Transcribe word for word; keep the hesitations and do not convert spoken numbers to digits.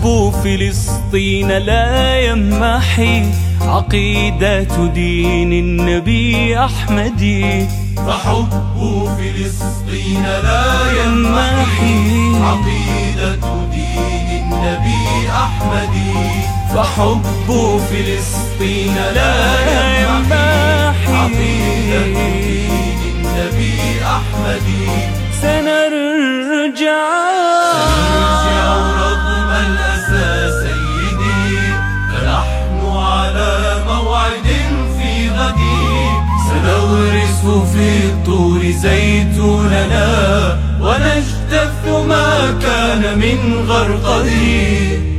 فحب فلسطين لا يمحي عقيدة دين النبي أحمد. فحب فلسطين لا يمحي عقيدة دين النبي أحمد. فحب فلسطين لا يمحي عقيدة دين النبي أحمد. سنرجع سنرجع رغم الأسى سيدي، فنحن على موعد في غدي. سنغرس في الطور زيتوننا ونجتث ما كان من غرقد.